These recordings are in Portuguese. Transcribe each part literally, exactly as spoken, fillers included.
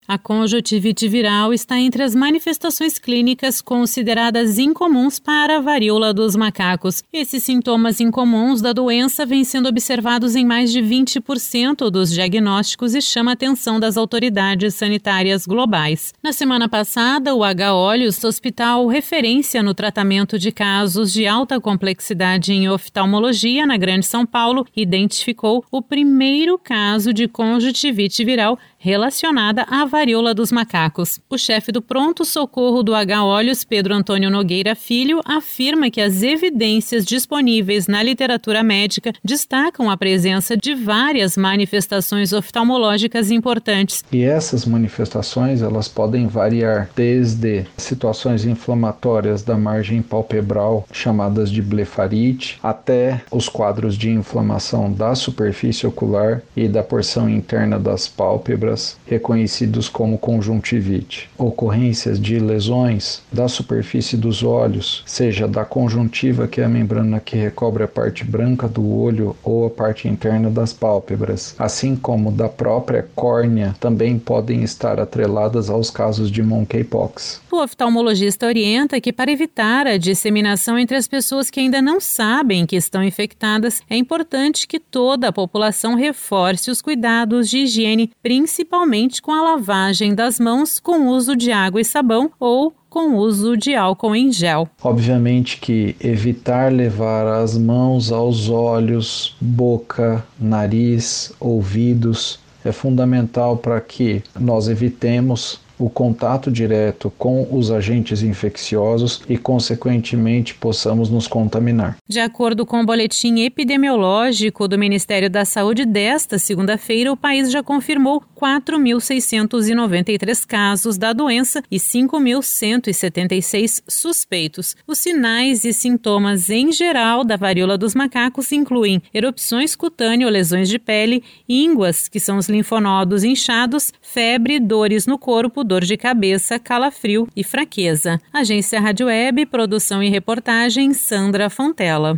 A conjuntivite viral está entre as manifestações clínicas consideradas incomuns para a varíola dos macacos. Esses sintomas incomuns da doença vêm sendo observados em mais de vinte por cento dos diagnósticos e chama a atenção das autoridades sanitárias globais. Na semana passada, o H. Olhos, hospital referência no tratamento de casos de alta complexidade em oftalmologia na Grande São Paulo, identificou o primeiro caso de conjuntivite viral relacionada à varíola dos macacos. O chefe do pronto-socorro do H. Olhos, Pedro Antônio Nogueira Filho, afirma que as evidências disponíveis na literatura médica destacam a presença de várias manifestações oftalmológicas importantes. E essas manifestações, elas podem variar desde situações inflamatórias da margem palpebral, chamadas de blefarite, até os quadros de inflamação da superfície ocular e da porção interna das pálpebras, reconhecidos como conjuntivite. Ocorrências de lesões da superfície dos olhos, seja da conjuntiva, que é a membrana que recobre a parte branca do olho, ou a parte interna das pálpebras, assim como da própria córnea, também podem estar atreladas aos casos de monkeypox. O oftalmologista orienta que, para evitar a disseminação entre as pessoas que ainda não sabem que estão infectadas, é importante que toda a população reforce os cuidados de higiene, principalmente com a lavagem das mãos com uso de água e sabão ou com uso de álcool em gel. Obviamente que evitar levar as mãos aos olhos, boca, nariz, ouvidos é fundamental para que nós evitemos o contato direto com os agentes infecciosos e, consequentemente, possamos nos contaminar. De acordo com o boletim epidemiológico do Ministério da Saúde desta segunda-feira, o país já confirmou quatro mil seiscentos e noventa e três casos da doença e cinco mil cento e setenta e seis suspeitos. Os sinais e sintomas em geral da varíola dos macacos incluem erupções cutâneas ou lesões de pele, ínguas, que são os linfonodos inchados, febre, dores no corpo, dor de cabeça, calafrio e fraqueza. Agência Rádio Web, produção e reportagem, Sandra Fontela.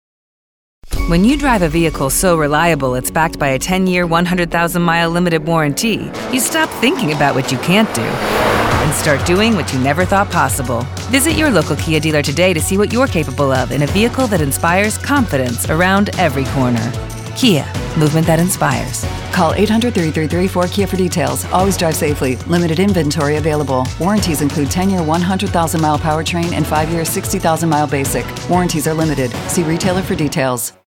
When you drive a vehicle so reliable it's backed by a ten-year, one hundred thousand mile limited warranty, you stop thinking about what you can't do and start doing what you never thought possible. Visit your local Kia dealer today to see what you're capable of in a vehicle that inspires confidence around every corner. Kia, movement that inspires. Call eight hundred, three three three, four K I A for details. Always drive safely. Limited inventory available. Warranties include ten-year, one hundred thousand mile powertrain and five-year, sixty thousand mile basic. Warranties are limited. See retailer for details.